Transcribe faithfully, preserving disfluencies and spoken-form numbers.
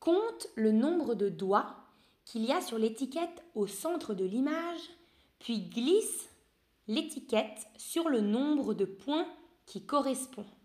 Compte le nombre de doigts qu'il y a sur l'étiquette au centre de l'image, puis glisse l'étiquette sur le nombre de points qui correspond.